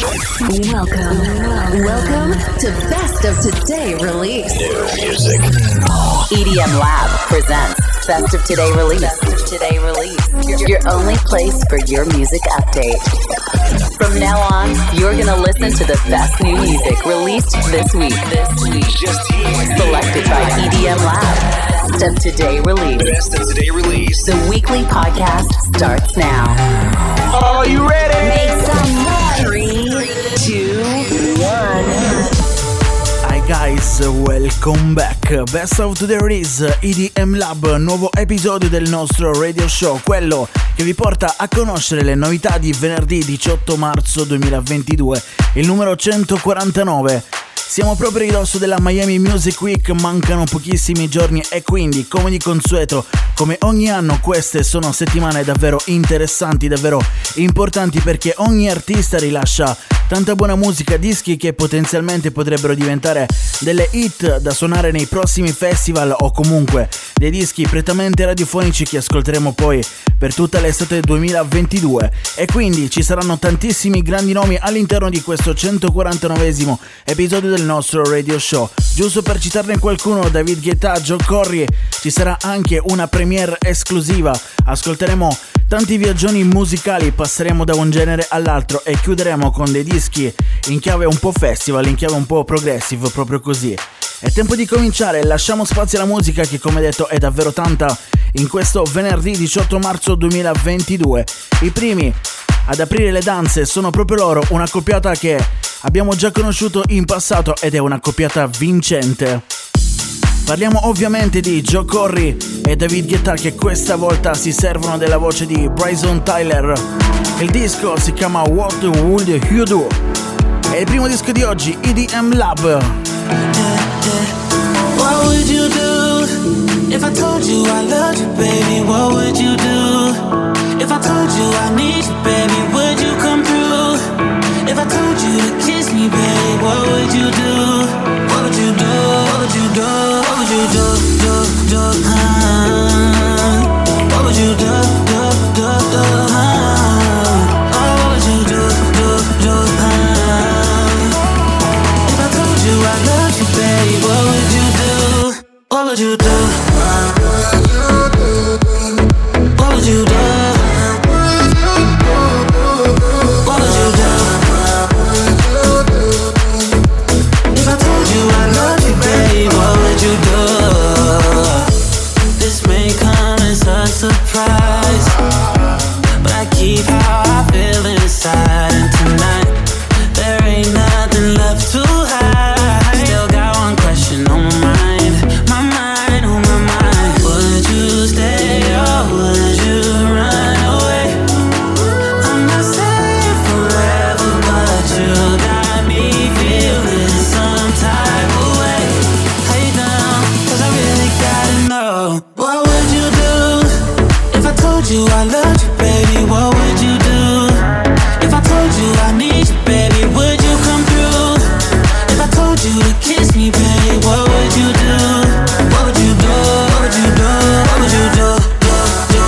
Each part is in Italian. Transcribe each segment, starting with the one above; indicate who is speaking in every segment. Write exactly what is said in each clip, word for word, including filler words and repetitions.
Speaker 1: Welcome, welcome to Best of Today Release.
Speaker 2: New music.
Speaker 3: E D M Lab presents Best of Today Release. Best of Today Release. Your only place for your music update. From now on, you're gonna listen to the best new music released this week. This week,
Speaker 2: Just here.
Speaker 3: selected by E D M Lab. Best of Today Release.
Speaker 2: Best of Today Release.
Speaker 3: The weekly podcast starts now.
Speaker 2: Are you ready?
Speaker 3: Make some noise. Three, two, one.
Speaker 4: Hi guys, welcome back. Best of Today Release, E D M Lab, nuovo episodio del nostro radio show, quello che vi porta a conoscere le novità di venerdì diciotto marzo duemilaventidue, il numero centoquarantanove. Siamo proprio a ridosso della Miami Music Week, mancano pochissimi giorni e quindi, come di consueto, come ogni anno, queste sono settimane davvero interessanti, davvero importanti, perché ogni artista rilascia tanta buona musica, dischi che potenzialmente potrebbero diventare delle hit da suonare nei prossimi festival o comunque dei dischi prettamente radiofonici che ascolteremo poi per tutta l'estate duemilaventidue. E quindi ci saranno tantissimi grandi nomi all'interno di questo centoquarantanovesimo episodio del nostro radio show. Giusto per citarne qualcuno: David Guetta, Joe Corry, ci sarà anche una premiere esclusiva, ascolteremo tanti viaggioni musicali, passeremo da un genere all'altro e chiuderemo con dei dischi in chiave un po' festival, in chiave un po' progressive, proprio così. È tempo di cominciare, lasciamo spazio alla musica che, come detto, è davvero tanta in questo venerdì diciotto marzo duemilaventidue. I primi ad aprire le danze sono proprio loro, una coppiata che abbiamo già conosciuto in passato ed è una coppiata vincente. Parliamo ovviamente di Joe Corry e David Guetta, che questa volta si servono della voce di Bryson Tyler. Il disco si chiama What Would You Do? È il primo disco di oggi, E D M Lab.
Speaker 5: What would you do if I told you I loved you, baby? What would you do if I told you I need you, baby? Would you come through? If I told you to kiss me, baby, what would you do? What would you do? What would you do? What would you do? Do, do, uh, what would you do? Do, do, do, uh, oh, what would you do? Do, do, uh, if I told you I loved you, baby, what would you do? What would you do? What would you do? Surprise, but I keep how I feel inside, and tonight there ain't nothing left to hide. Still got one question on my mind, my mind, on my mind. Would you stay or would you run away? I'm not saying forever, but you got me feeling some type of way. Hey down, cause I really gotta know, what would you do if I told you I loved you, baby? What would you do if I told you I need you, baby? Would you come through? If I told you to kiss me, baby, what would you do? What would you do? What would you do? What would you do? Do, do,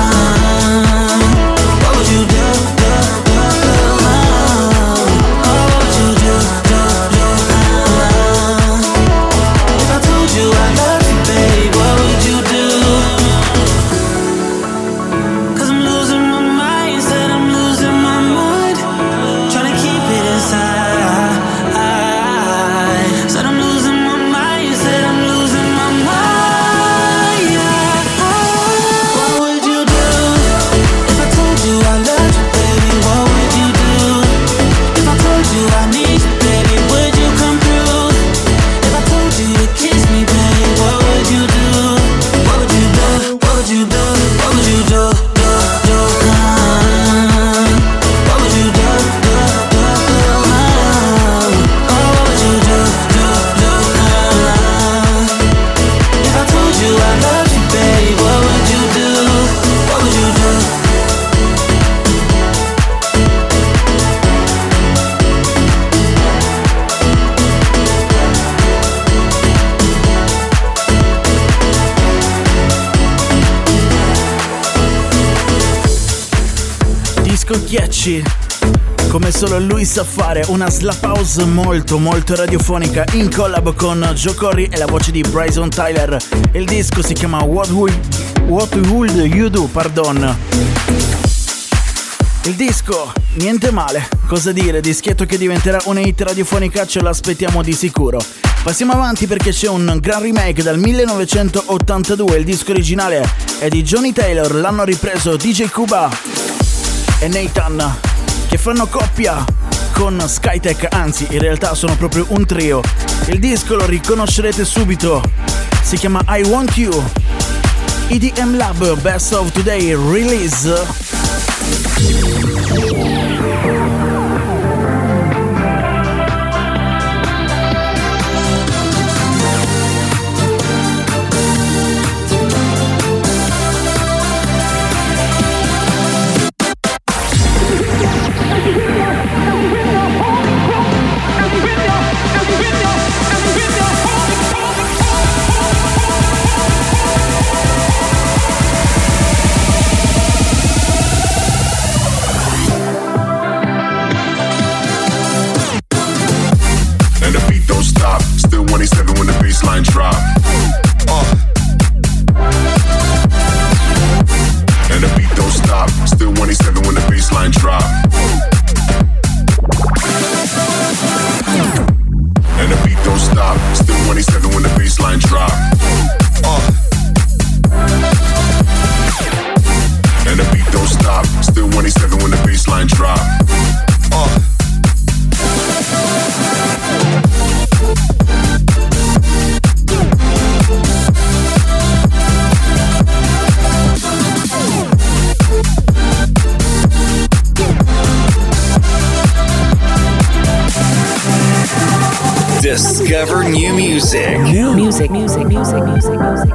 Speaker 5: uh, what would you do? Do, do, do, uh, oh, what would you do? Do, do, uh, if I told you I loved you, baby, what would you do?
Speaker 4: Ghiacci come solo lui sa fare, una slap house molto molto radiofonica in collab con Joe Corry e la voce di Bryson Tyler. Il disco si chiama What Would, What Would You Do, pardon. Il disco, niente male, cosa dire, dischietto che diventerà una hit radiofonica ce l'aspettiamo di sicuro. Passiamo avanti perché c'è un gran remake dal millenovecentottantadue, il disco originale è di Johnny Taylor, l'hanno ripreso D J Cuba e Nathan, che fanno coppia con Skytech, anzi in realtà sono proprio un trio. Il disco lo riconoscerete subito, si chiama I Want You. E D M Lab Best of Today Release.
Speaker 2: Discover new music.
Speaker 3: New music, music, music, music, music.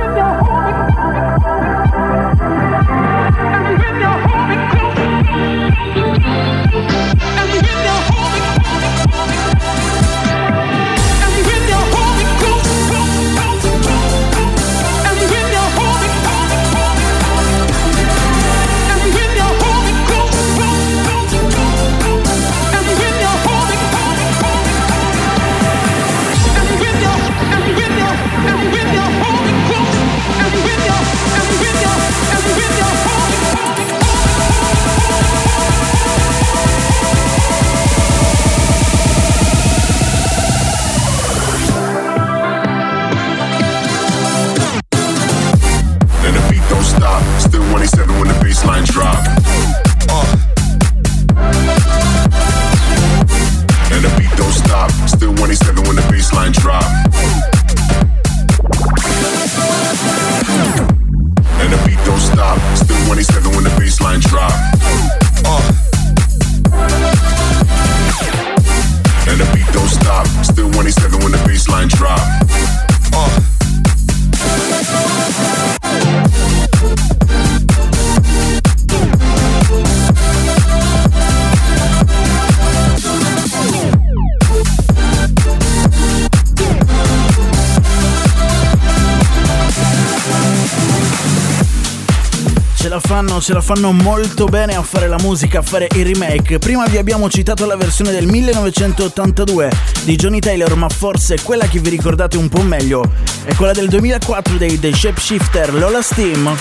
Speaker 4: Ce la fanno molto bene a fare la musica, a fare i remake. Prima vi abbiamo citato la versione del millenovecentottantadue di Johnny Taylor, ma forse quella che vi ricordate un po' meglio è quella del duemilaquattro dei The Shapeshifter, Lola Steam.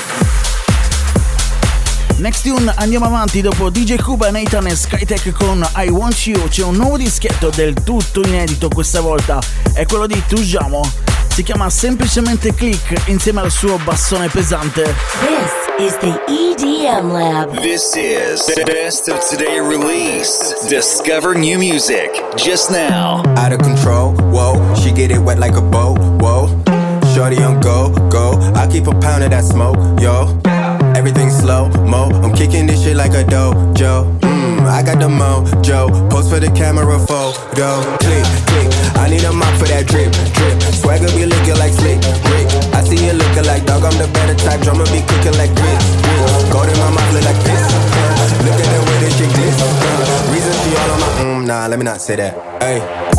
Speaker 4: Next tune, andiamo avanti. Dopo D J Cuba, Nathan e Skytech con I Want You c'è un nuovo dischetto del tutto inedito questa volta, è quello di Tujamo. Si chiama semplicemente Click insieme al suo bassone pesante.
Speaker 3: This is the E D M Lab.
Speaker 2: This is the Best of Today Release. Discover new music just now.
Speaker 6: Out of control, whoa. She get it wet like a boat, whoa. Shorty on go, go. I keep a pound of that smoke, yo. Everything slow, mo. I'm kicking this shit like a dojo. Mmm, I got the mojo. Post for the camera photo. Click, click. I need a mop for that drip, drip. Swagger be looking like slick, Rick. I see you looking like dog. I'm the better type. Drummer be cooking like grits, grits. Gold in my mouth look like piss. Uh, look at the way this shit glitz. Uh, reason she all on my mm, nah, let me not say that. Hey.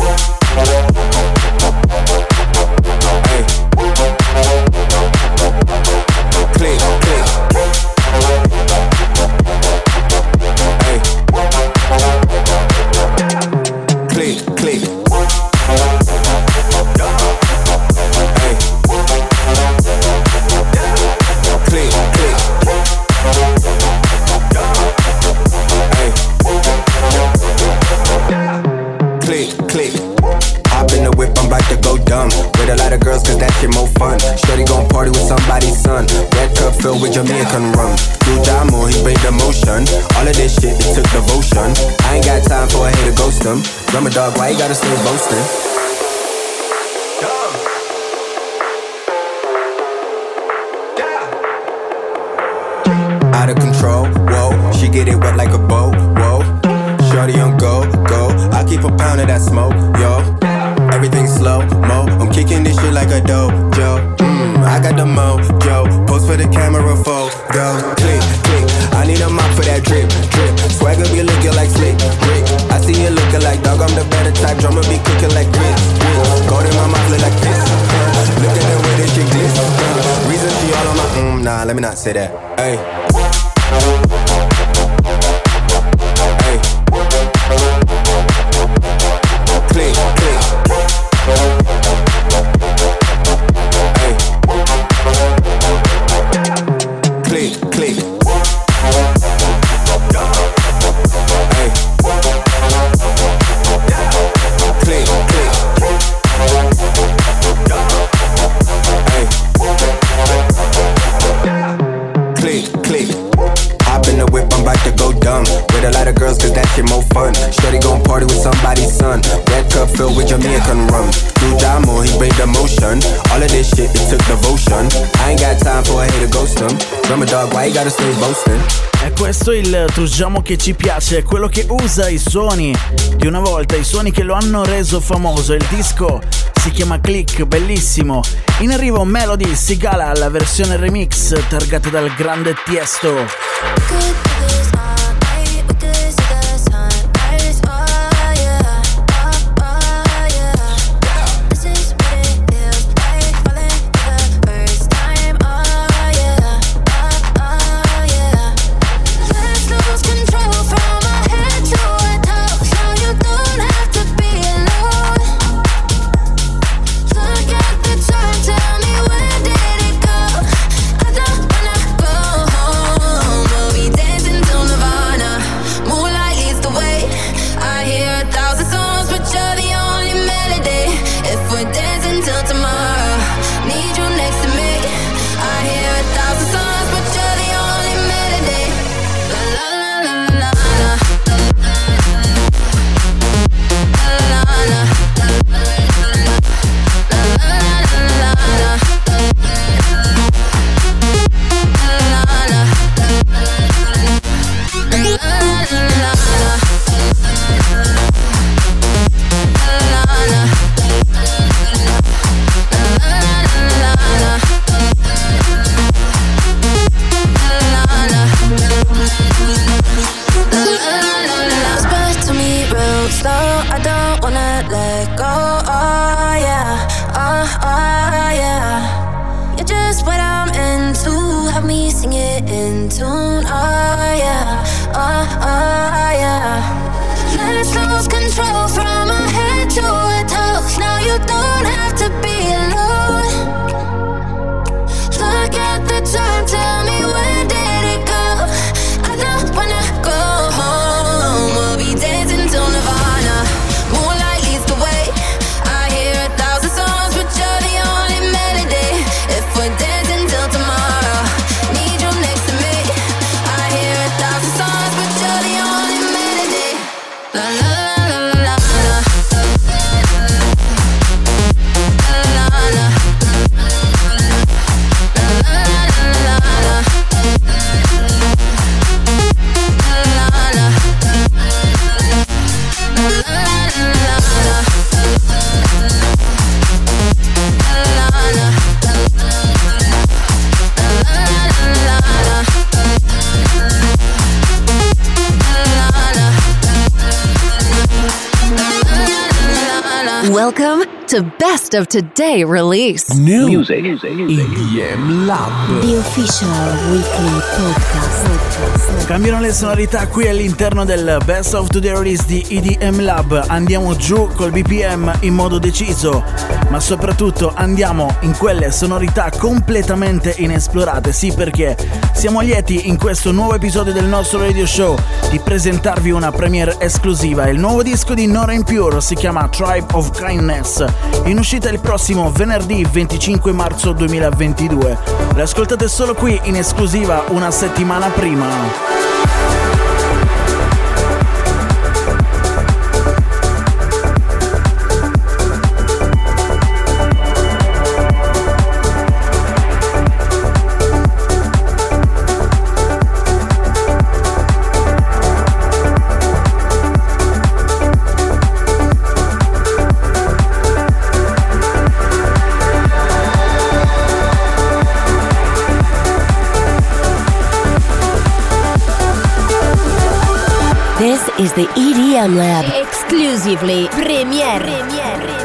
Speaker 6: Click, click. Hey. Jamaican rum. Do Jamo, he bring the motion. All of this shit, it took devotion. I ain't got time for a hater ghost him. Drummer dog, why you gotta stay boasting? Out of control, whoa. She get it wet like a boat, whoa. Shorty on go, go. I keep a pound of that smoke, yo. Everything slow, mo. I'm kicking this shit like a dojo. Mmm, I got the mojo. Post for the camera photo. Click, click. I need a mop for that drip, drip. Swagger be looking like slick, Rick. I see you looking like dog. I'm the better type. Drummer be cooking like grits, grits. Gold in my mouth look like this. Uh, look at the way this shit glitz. Uh, reason she all on my mm, nah. Let me not say that. Hey. Hey. Click, click. Hey. Click, click. Hey. Click, click. Hey. Click, click. Hop in the whip, I'm about to go dumb. With a lot of girls, cause that shit more fun. Shorty gon' party with somebody's son. Red cup filled with Jamaican rum. Do Jamo, he bring the motion. All of this shit, it took devotion. I ain't got time for a hater ghost him. Drummer dog, why you gotta stay boasting?
Speaker 4: E questo è il Tujamo che ci piace, è quello che usa i suoni di una volta, i suoni che lo hanno reso famoso. Il disco si chiama Click, bellissimo. In arrivo Melody Sigala, la versione remix targata dal grande Tiesto.
Speaker 1: Welcome to Best of Today Release.
Speaker 7: New music, music, music. E D M Lab.
Speaker 8: The official weekly podcast. podcast.
Speaker 4: Cambiano le sonorità qui all'interno del Best of Today Release di E D M Lab. Andiamo giù col B P M in modo deciso, ma soprattutto andiamo in quelle sonorità completamente inesplorate. Sì, perché siamo lieti in questo nuovo episodio del nostro radio show di presentarvi una premiere esclusiva. Il nuovo disco di Nora En Pure si chiama Tribe of Kindness, in uscita il prossimo venerdì venticinque marzo duemilaventidue. L'ascoltate solo qui in esclusiva una settimana prima.
Speaker 7: This is the E D M Lab. Exclusively Premiere. Premiere.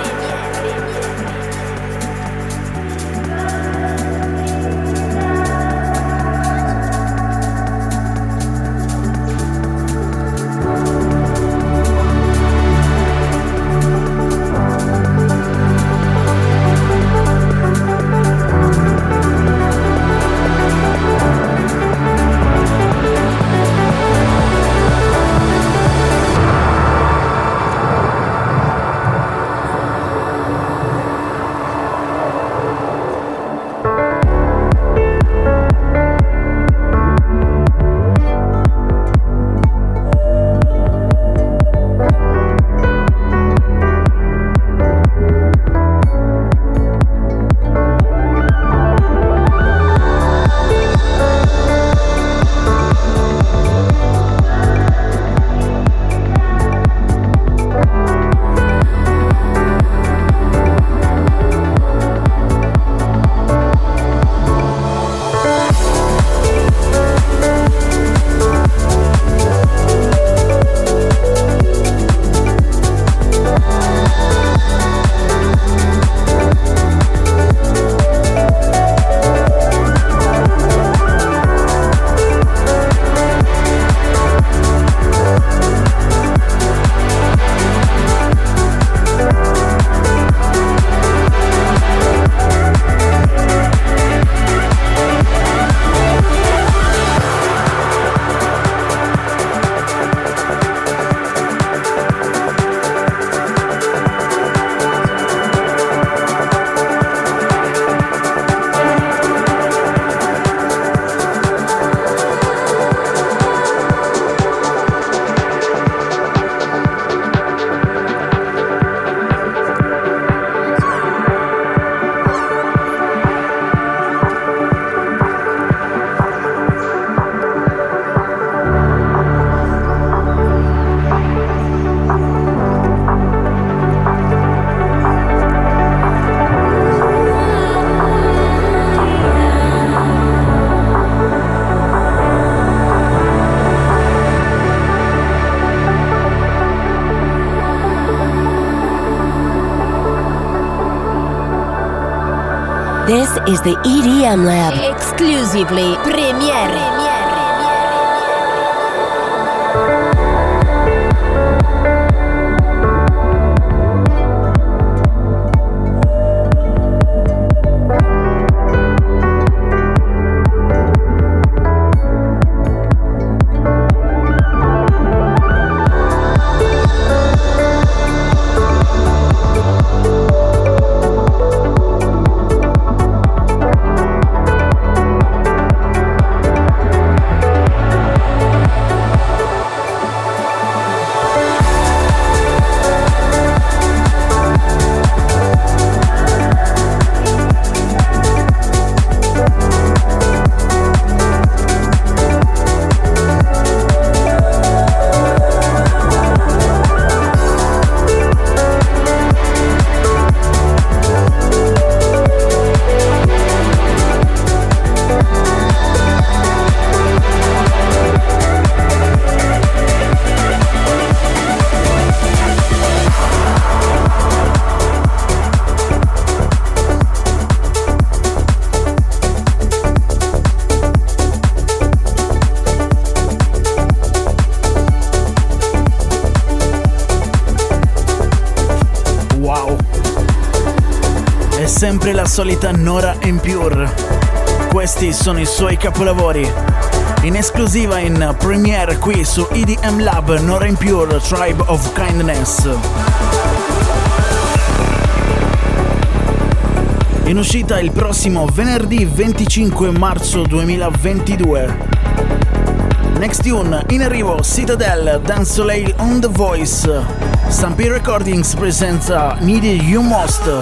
Speaker 7: This is the E D M Lab. Exclusively Premiere.
Speaker 4: sempre la solita Nora En Pure. Questi sono i suoi capolavori. In esclusiva in premiere qui su E D M Lab, Nora En Pure, Tribe of Kindness. In uscita il prossimo venerdì venticinque marzo duemilaventidue. Next tune, in arrivo Citadel, Dance Soleil on The Voice. Stampede Recordings presenta Needed You Most.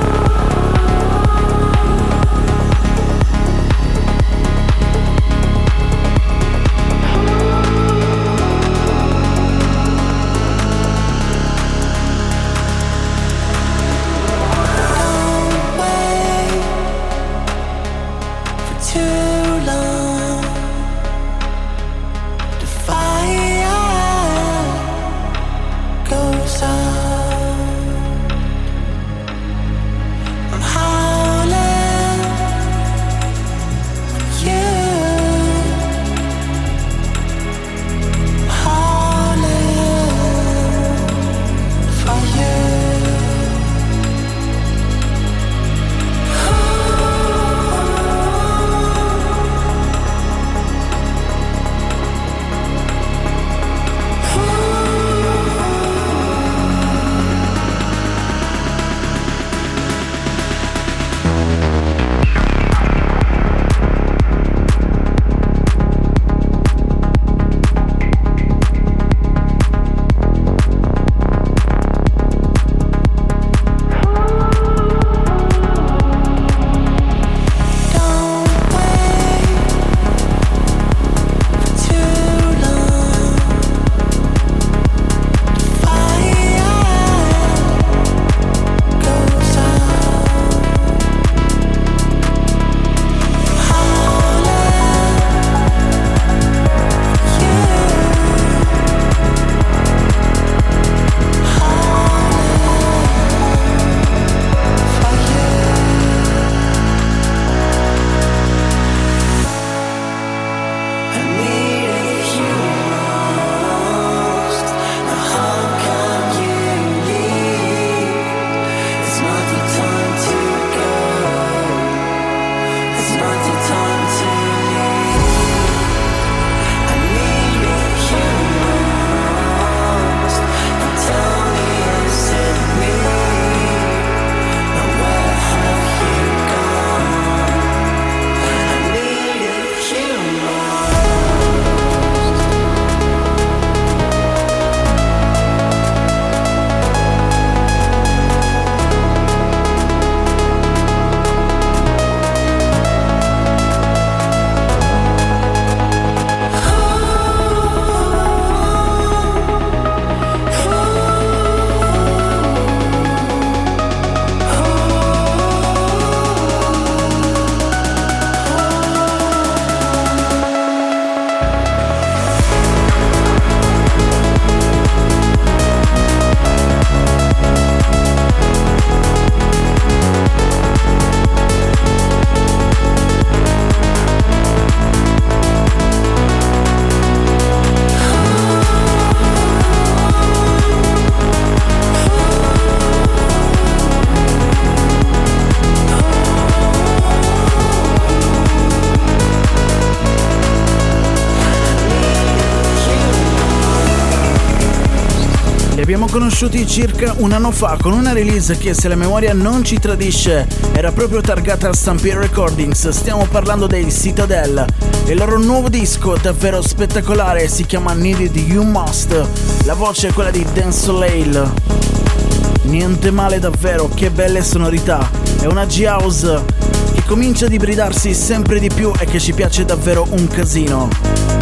Speaker 4: abbiamo conosciuti circa un anno fa con una release che, se la memoria non ci tradisce, era proprio targata a Stampede Recordings. Stiamo parlando dei Citadel. Il loro nuovo disco davvero spettacolare si chiama Needed You Most. La voce è quella di Dance Soleil. Niente male davvero, che belle sonorità. È una G-House che comincia ad ibridarsi sempre di più e che ci piace davvero un casino.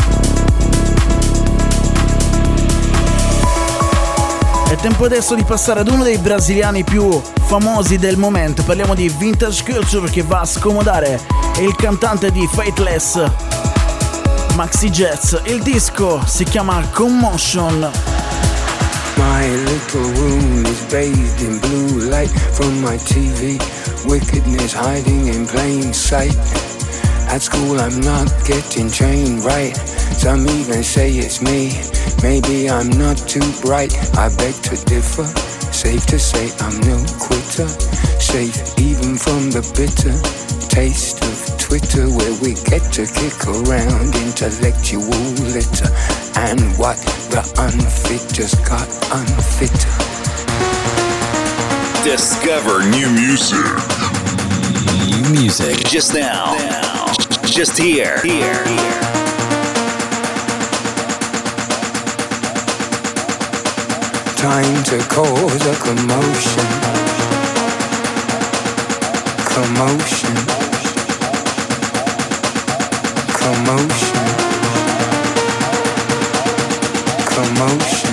Speaker 4: È tempo adesso di passare ad uno dei brasiliani più famosi del momento. Parliamo di Vintage Culture, che va a scomodare. È il cantante di Faithless, Maxi Jets. Il disco si chiama Commotion.
Speaker 8: My little room is bathed in blue light from my T V. Wickedness hiding in plain sight. At school I'm not getting trained right. Some even say it's me. Maybe I'm not too bright. I beg to differ. Safe to say I'm no quitter. Safe even from the bitter taste of Twitter, where we get to kick around intellectual litter. And what the unfit just got unfitter.
Speaker 2: Discover new music.
Speaker 9: New music.
Speaker 2: Just now. now. Just here. Here. Here.
Speaker 8: Time to cause a commotion. Commotion. Commotion. Commotion.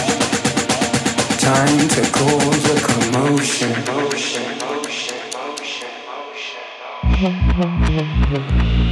Speaker 8: Time to cause a commotion. Motion, motion, motion, motion.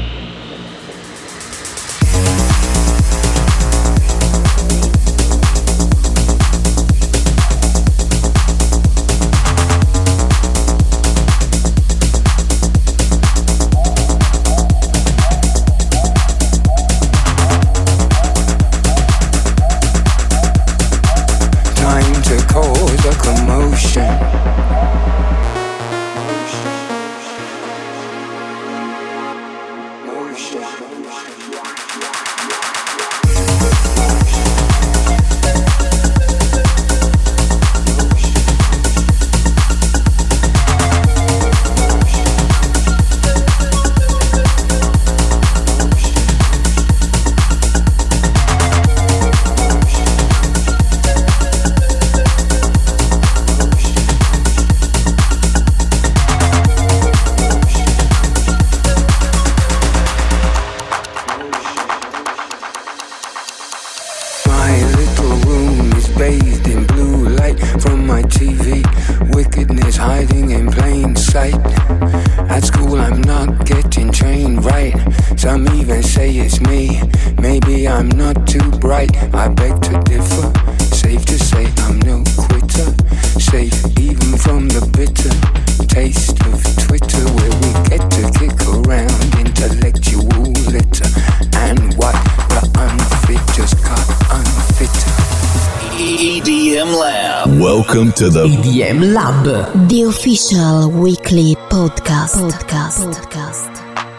Speaker 2: Welcome to the
Speaker 7: E D M Lab, the official weekly podcast. Podcast. Podcast.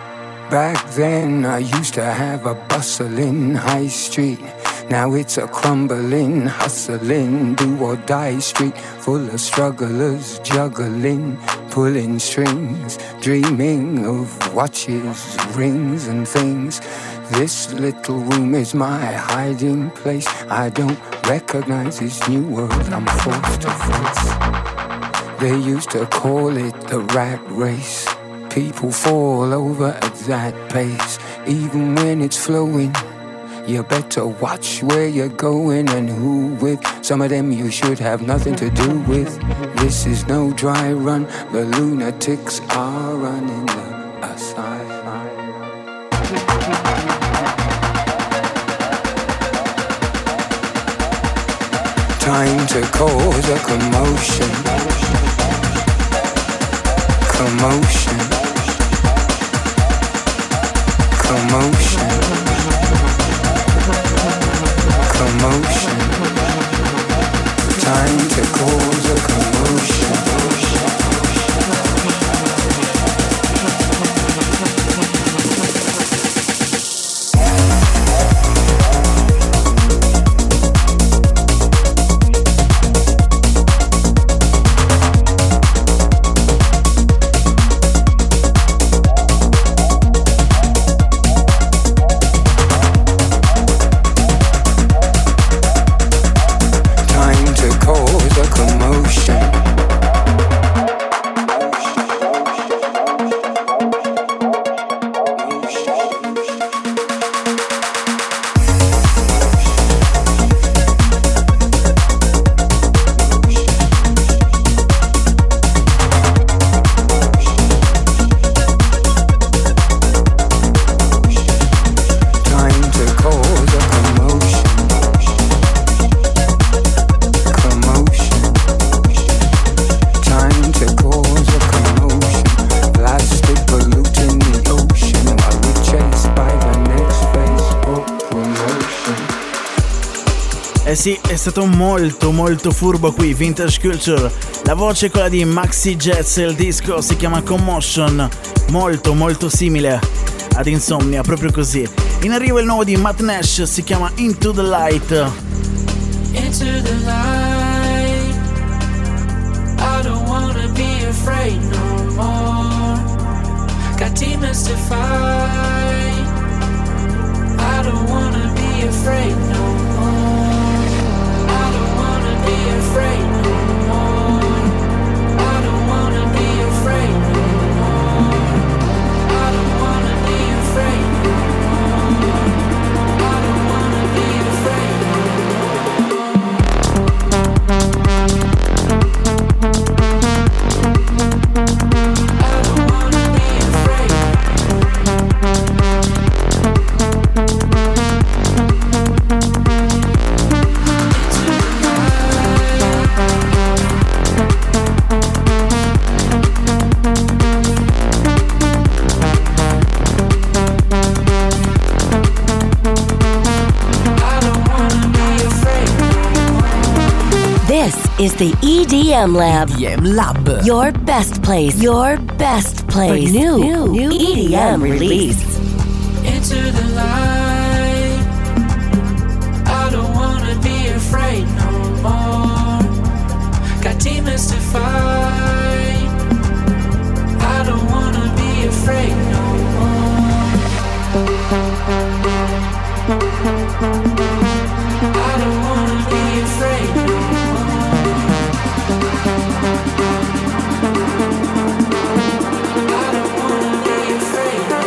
Speaker 8: Back then I used to have a bustling high street. Now it's a crumbling, hustling, do or die street, full of strugglers, juggling, pulling strings, dreaming of watches, rings and things. This little room is my hiding place. I don't recognize this new world I'm forced to face. They used to call it the rat race. People fall over at that pace. Even when it's flowing, you better watch where you're going and who with. Some of them you should have nothing to do with. This is no dry run. The lunatics are running the asylum. Time to cause a commotion. Commotion. Commotion. Commotion. Time to cause a commotion. Come on.
Speaker 4: Eh sì, è stato molto molto furbo qui, Vintage Culture. La voce è quella di Maxi Jets e il disco si chiama Commotion, molto molto simile ad Insomnia, proprio così. In arrivo il nuovo di Matt Nash, si chiama Into the Light.
Speaker 10: Into the light, I don't wanna be afraid no more. Got demons to fight, I don't wanna be afraid no more. I don't wanna be afraid no more. I don't wanna be afraid no more. I don't wanna be afraid no more. I don't wanna be afraid no more. I don't wanna be afraid.
Speaker 7: This is the E D M Lab.
Speaker 9: E D M Lab.
Speaker 7: Your best place. Your best place. For new, new, new E D M release.
Speaker 10: Into the light, I don't wanna be afraid no more. Got demons to fight, I don't wanna be afraid no more. I don't wanna be afraid no more. I don't wanna be afraid no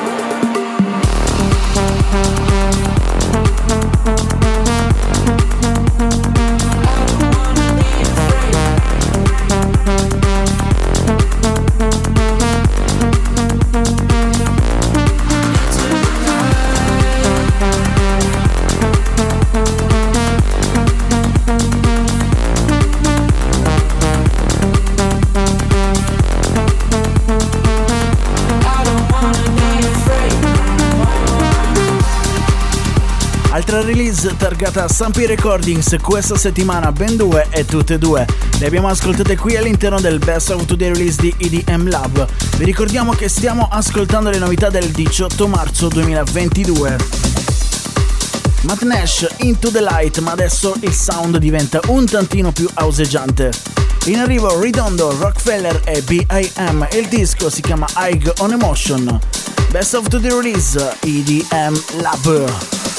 Speaker 4: Altra release targata Sampi Recordings questa settimana, ben due e tutte e due le abbiamo ascoltate qui all'interno del Best of Today Release di E D M Lab. Vi ricordiamo che stiamo ascoltando le novità del diciotto marzo duemilaventidue. Matt Nash, Into the Light, ma adesso il sound diventa un tantino più houseggiante. In arrivo Redondo, Rockefeller e B I M e il disco si chiama High on Emotion. Best of Today Release, E D M Lab.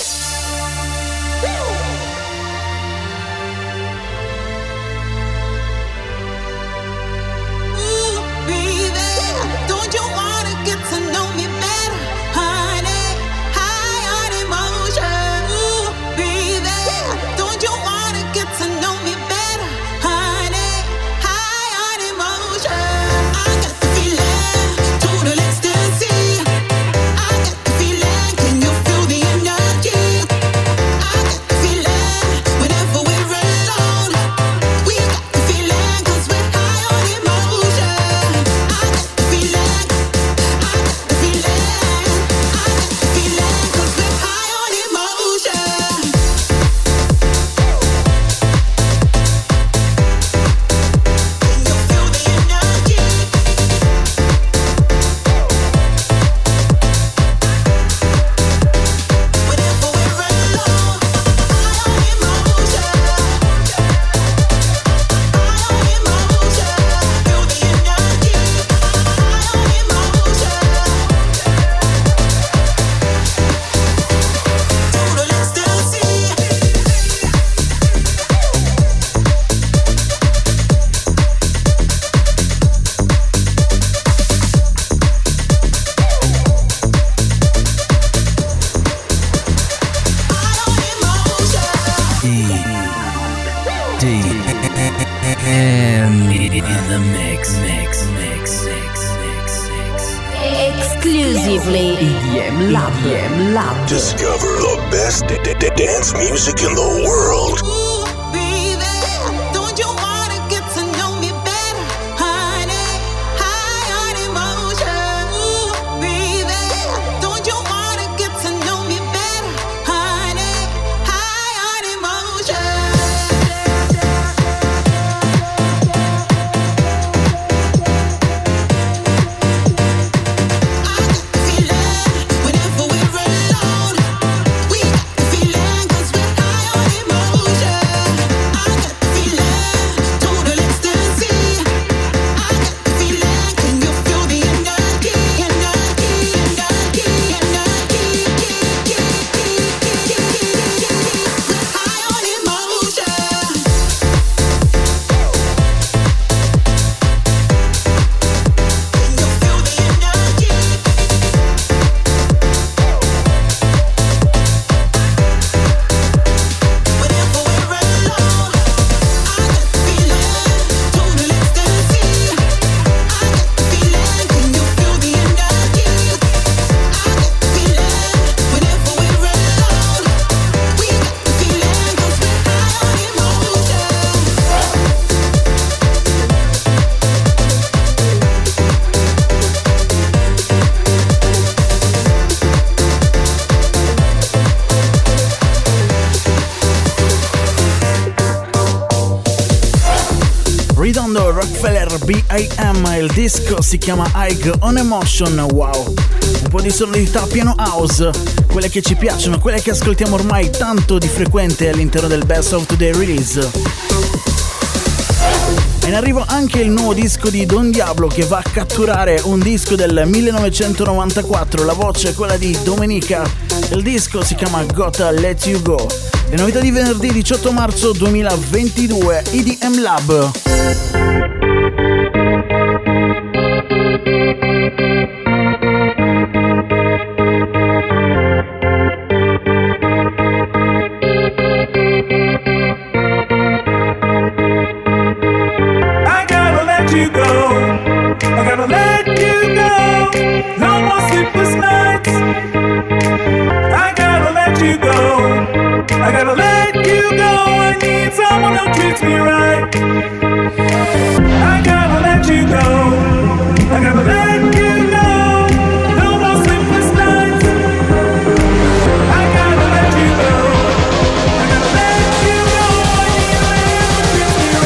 Speaker 11: Can you feel the
Speaker 9: in the mix, mix, mix, mix, mix, mix.
Speaker 7: Exclusively
Speaker 9: E D M Lab, E D M Lab.
Speaker 12: Discover the best d- d- dance music in the world.
Speaker 11: Don't you wanna get to know me better, honey? High on emotion.
Speaker 4: Bitondo, Rockefeller B I M, il disco si chiama High on Emotion. Wow, un po' di sonorità piano house, quelle che ci piacciono, quelle che ascoltiamo ormai tanto di frequente all'interno del Best of Today Release. E in arrivo anche il nuovo disco di Don Diablo, che va a catturare un disco del millenovecentonovantaquattro, la voce è quella di Domenica, il disco si chiama Gotta Let You Go. Le novità di venerdì diciotto marzo duemilaventidue, E D M Lab.
Speaker 13: I gotta let you go, I need someone who treats me right. I gotta let you go, I gotta let you go, no more sleepless nights. I gotta let you go, I gotta let you go, I need a man who treats me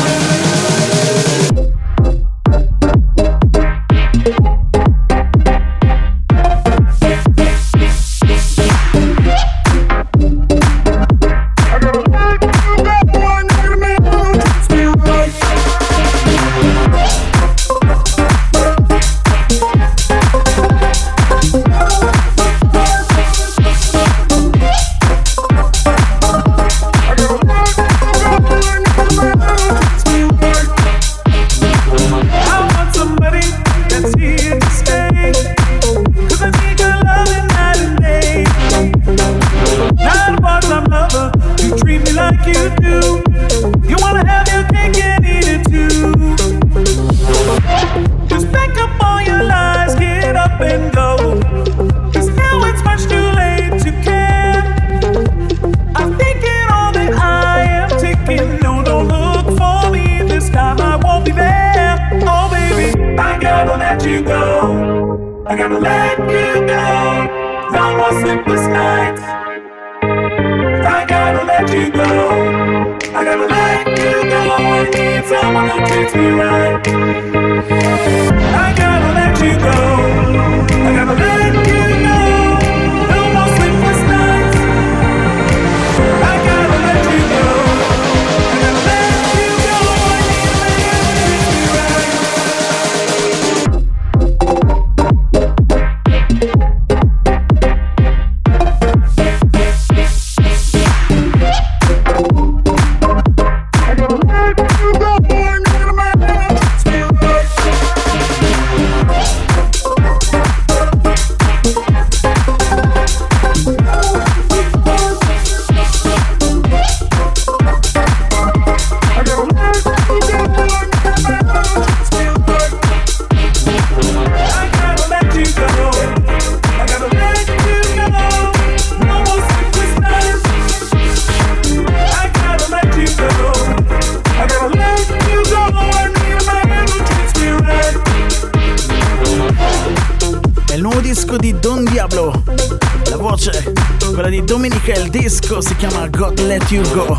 Speaker 4: Di Don Diablo, la voce quella di Domenica, il disco si chiama God Let You Go,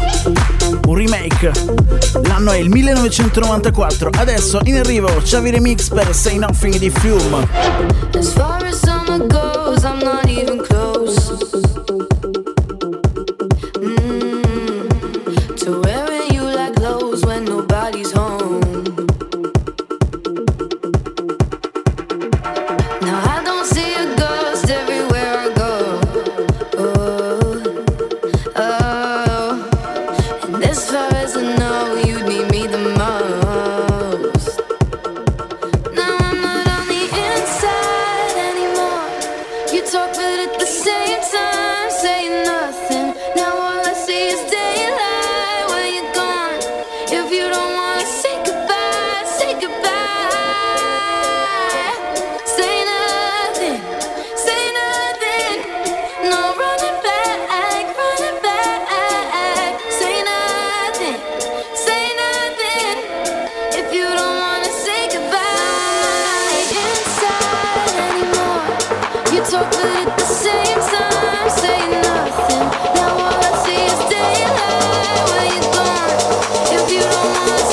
Speaker 4: un remake, l'anno è il millenovecentonovantaquattro. Adesso in arrivo Xavi Remix per Say Nothing di Fume.
Speaker 14: As far as summer goes, I'm not even close mm, to wearing you like clothes when nobody's home. Now I don't see a ghost everywhere I go. Oh, oh. And as far as I know, you'd need me the most. Now I'm not on the inside anymore. You talk but at the same time say nothing. Now all I see is daylight when you're gone. If you don't wanna say goodbye, say goodbye. Say nothing, say nothing. No running back, running back. Say nothing, say nothing. If you don't wanna say goodbye inside anymore. You talk but at the same time say nothing. Now all I see is daylight when you're gone. If you don't wanna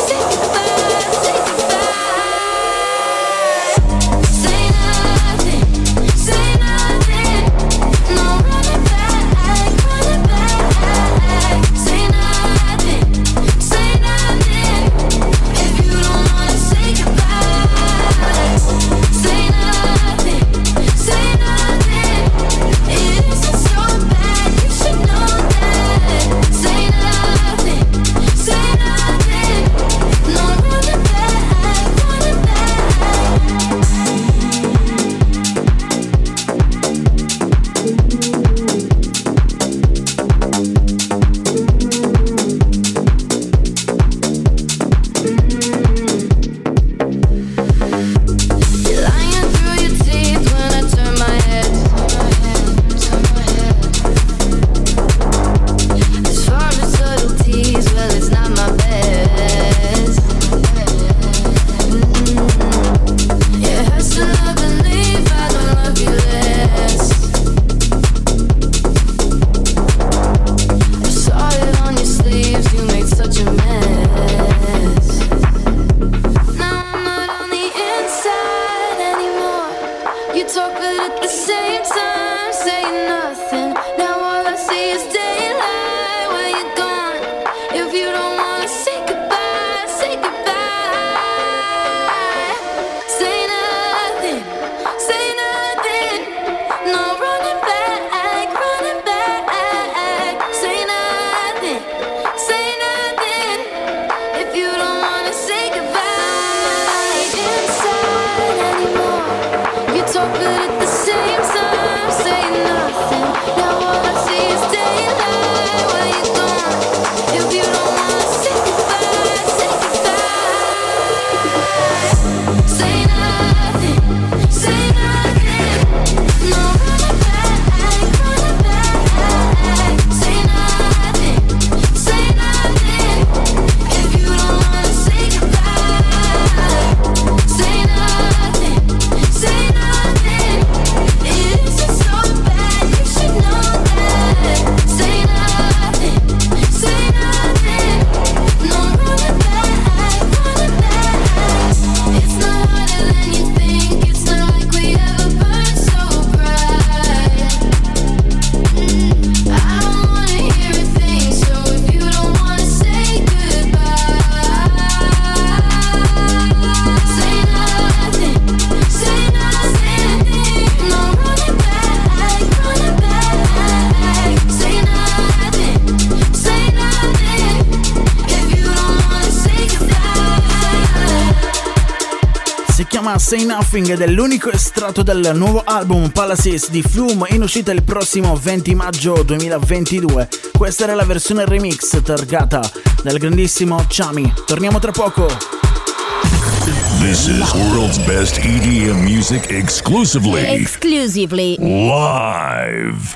Speaker 4: chiama Say Nothing ed è l'unico estratto del nuovo album Palaces di Flume, in uscita il prossimo venti maggio duemilaventidue. Questa era la versione remix targata dal grandissimo Chami. Torniamo tra poco.
Speaker 12: This is world's best E D M music exclusively.
Speaker 7: Exclusively.
Speaker 12: Live.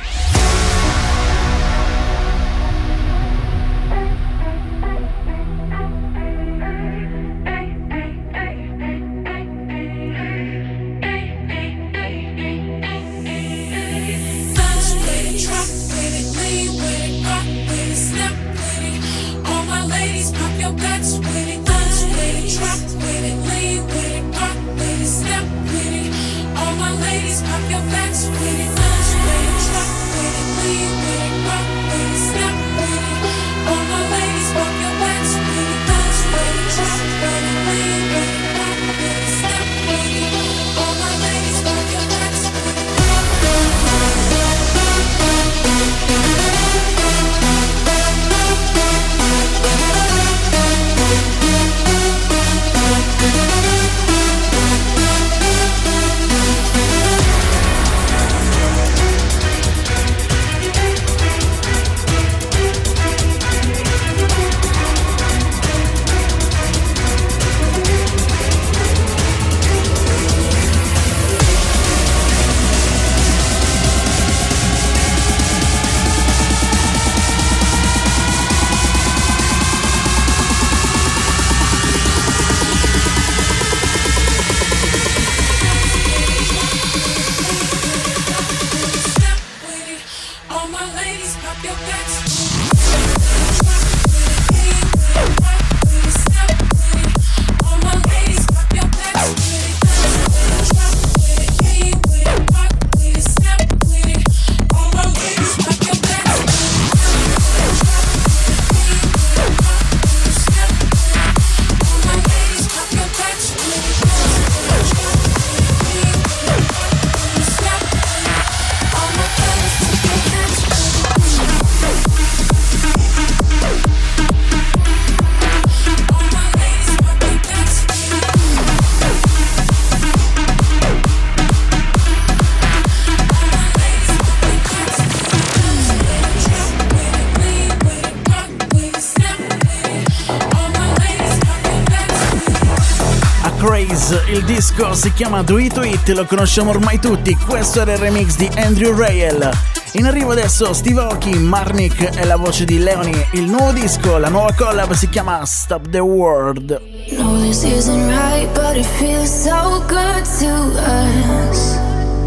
Speaker 4: Il disco si chiama Do It To It, lo conosciamo ormai tutti. Questo era il remix di Andrew Rayel. In arrivo adesso Steve Aoki, Marnik e la voce di Leonie. Il nuovo disco, la nuova collab si chiama Stop the World.
Speaker 14: No, this isn't right, but it feels so good to us.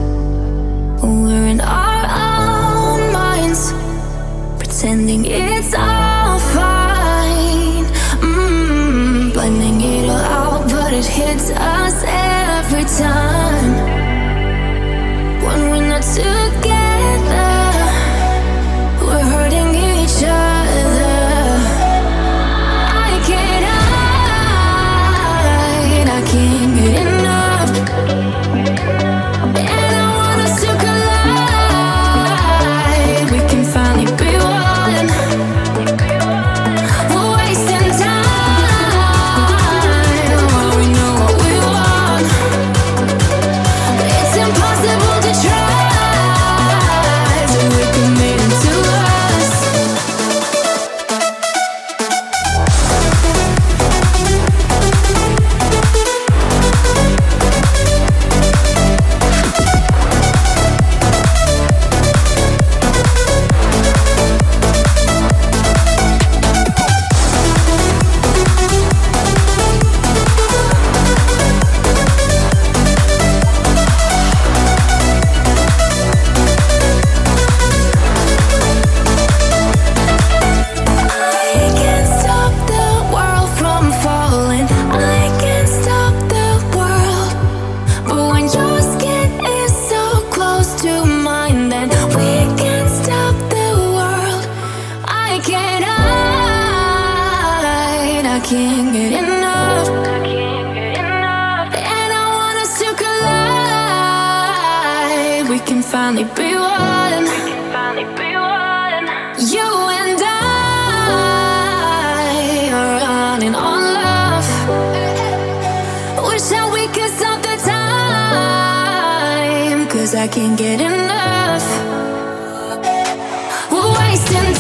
Speaker 14: We're in our own minds, pretending it's all fine. Mm, blending it all out, but it hits us every time. When we're not together, we're hurting each other. I can't hide, I can't get enough. And I want us to collide. We can finally be one. We're wasting time while we know what we want. It's impossible to try, so we can make it to us. I can't stop the world from falling. I can't stop the world. But when your skin is so close to mine, then we can't stop the world. I can't hide, I can't get enough. And I want us to collide. We can finally be one. You and I are running on love. Wish that we could stop the I can't get enough. We're wasting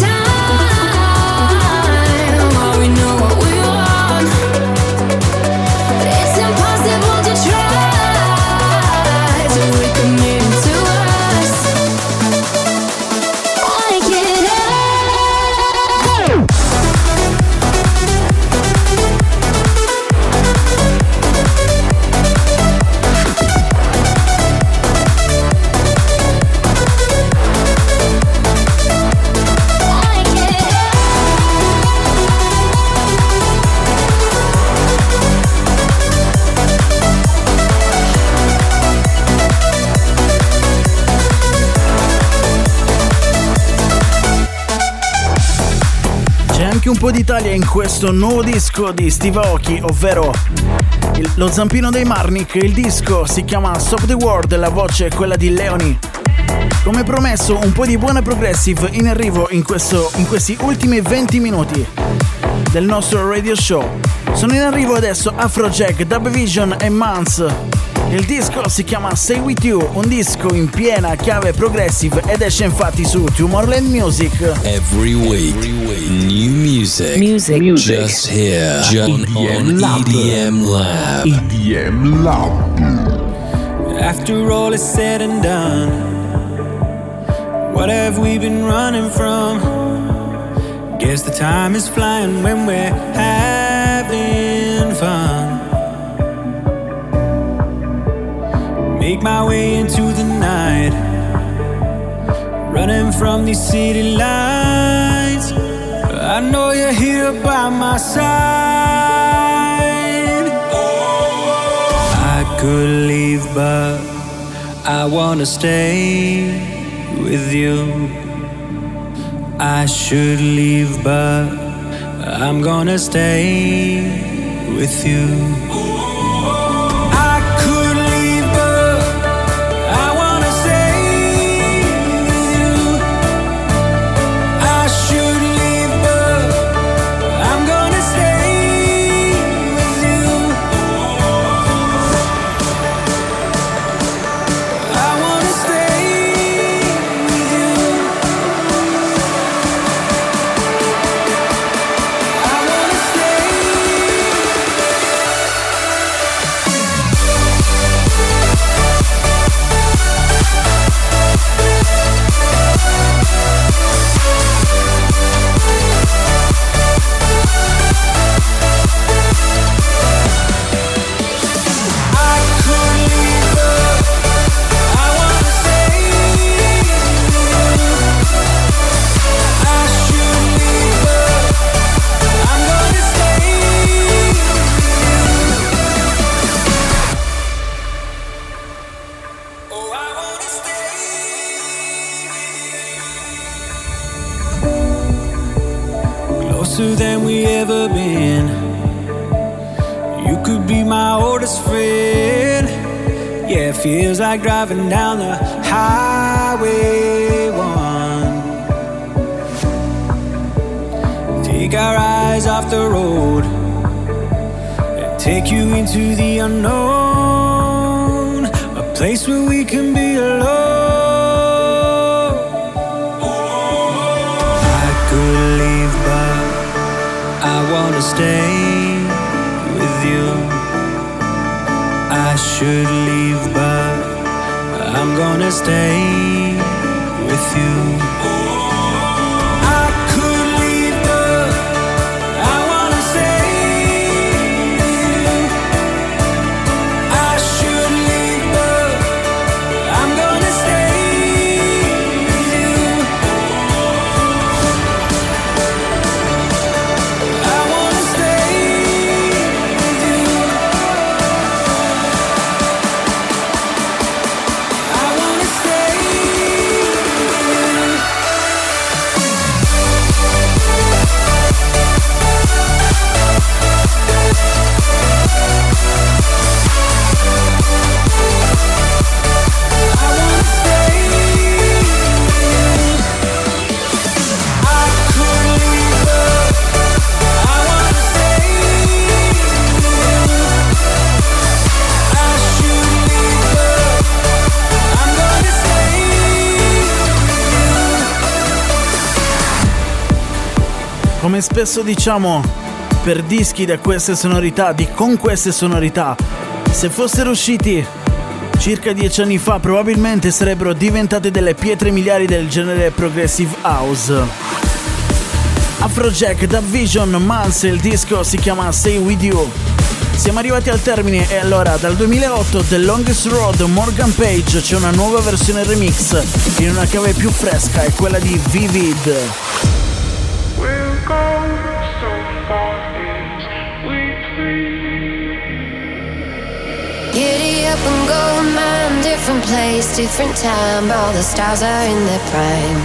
Speaker 14: time while we know what we want. It's impossible to try to recommit to us. Wanna get out.
Speaker 4: Un po' d'Italia in questo nuovo disco di Steve Aoki, ovvero il, lo zampino dei Marnik. Il disco si chiama Stop the World, la voce è quella di Leoni. Come promesso, un po' di buona progressive in arrivo in, questo, in questi ultimi venti minuti del nostro radio show. Sono in arrivo adesso Afrojack, Dub Vision e Mans. Il disco si chiama Stay With You, un disco in piena chiave progressive ed esce infatti su Tomorrowland Music.
Speaker 15: Every week, new music,
Speaker 9: music, music.
Speaker 15: just here, just on E D M Lab.
Speaker 12: E D M Lab.
Speaker 16: After all is said and done, what have we been running from? Guess the time is flying when we're having fun. Make my way into the night, running from these city lights. I know you're here by my side. I could leave, but I wanna stay with you. I should leave, but I'm gonna stay with you. Closer than we ever been. You could be my oldest friend. Yeah, it feels like driving down the highway one. Take our eyes off the road and take you into the unknown, a place where we can be alone. I could leave, but I wanna stay with you. I should leave, but I'm gonna stay with you.
Speaker 4: come spesso diciamo, per dischi da queste sonorità, di con queste sonorità, se fossero usciti circa dieci anni fa probabilmente sarebbero diventate delle pietre miliari del genere progressive house. Afrojack, Dub Vision, Mans, il disco si chiama Stay With You. Siamo arrivati al termine e allora dal duemilaotto The Longest Road, Morgan Page, c'è una nuova versione remix in una chiave più fresca, è quella di Vivid.
Speaker 13: We'll go so far as we please.
Speaker 14: Giddy up and go, man, different place, different time. All the stars are in their prime.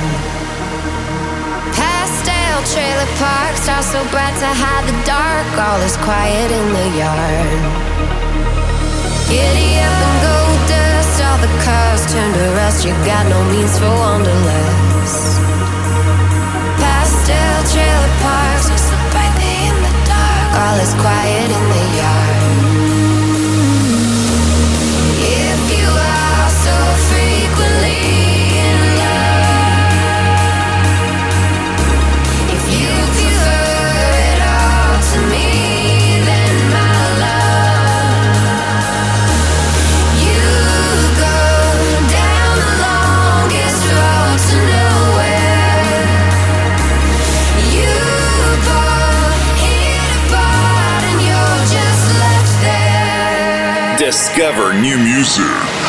Speaker 14: Pastel trailer park, stars so bright to hide the dark. All is quiet in the yard. Giddy up and go, dust, all the cars turn to rust. You got no means for wanderlust. Pastel trailer parks, stars so brightly in the dark. All is quiet in the yard. If you are so frequently in love, if you prefer it all to me, then my love, you go down the longest road to nowhere. You pull it apart and you're just left there.
Speaker 2: Discover new music.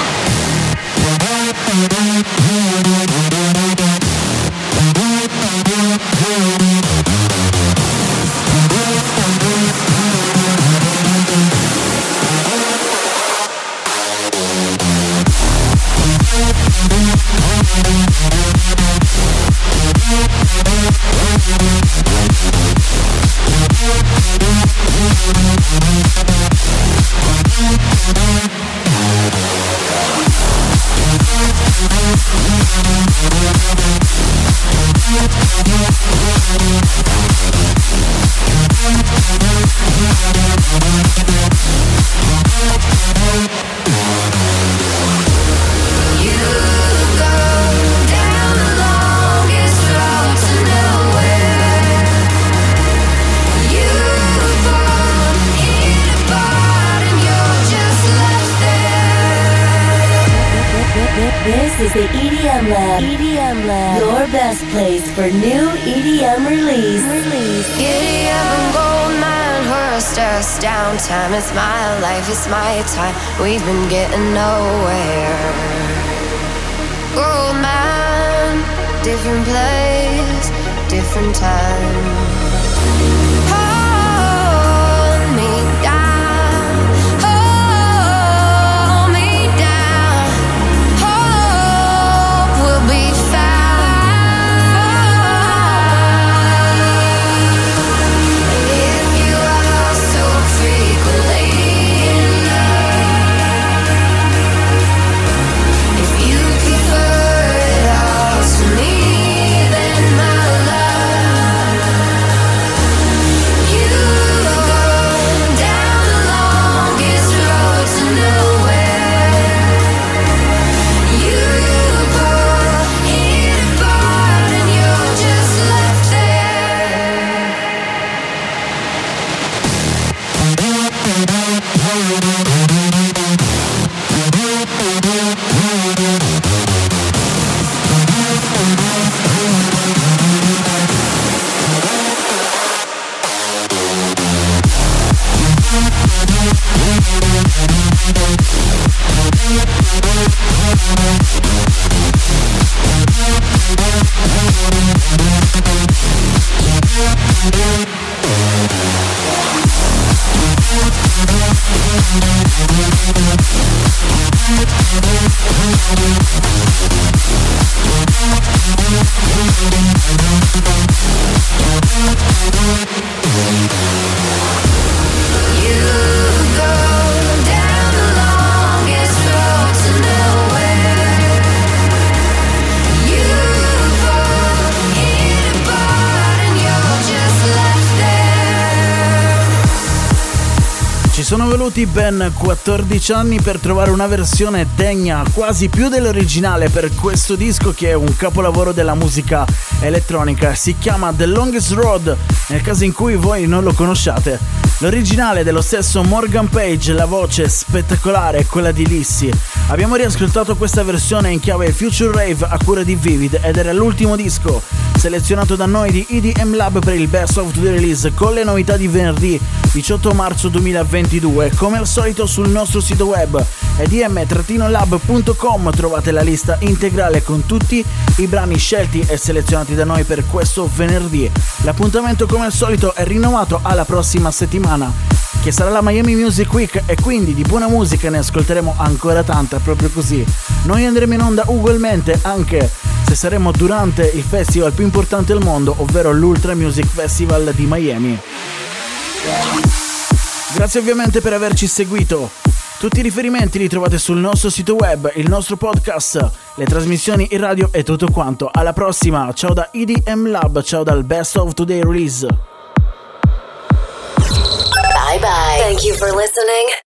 Speaker 7: This is the E D M Lab. E D M Lab. Your best place for new E D M release. Release.
Speaker 14: Giddy up and gold mine, horse us down. Time, it's my life, it's my time. We've been getting nowhere. Gold mine, different place, different time. Hold me down, hold me down. Hope we'll be fine. If you are so frequently in love, if you prefer it all to me, then my love,
Speaker 4: sono voluti ben quattordici anni per trovare una versione degna quasi più dell'originale per questo disco, che è un capolavoro della musica elettronica. Si chiama The Longest Road, nel caso in cui voi non lo conosciate. L'originale dello stesso Morgan Page, la voce spettacolare è quella di Lissy. Abbiamo riascoltato questa versione in chiave Future Rave a cura di Vivid ed era l'ultimo disco selezionato da noi di E D M Lab per il Best of the Release, con le novità di venerdì diciotto marzo duemilaventidue. Come al solito sul nostro sito web e d m lab punto com trovate la lista integrale con tutti i brani scelti e selezionati da noi per questo venerdì. L'appuntamento come al solito è rinnovato alla prossima settimana, che sarà la Miami Music Week, e quindi di buona musica ne ascolteremo ancora tanta, proprio così. Noi andremo in onda ugualmente, anche se saremo durante il festival più importante al mondo, ovvero l'Ultra Music Festival di Miami. Grazie ovviamente per averci seguito. Tutti i riferimenti li trovate sul nostro sito web, il nostro podcast, le trasmissioni in radio e tutto quanto. Alla prossima, ciao da E D M Lab, ciao dal Best of Today Release.
Speaker 7: Bye bye. Thank you for listening.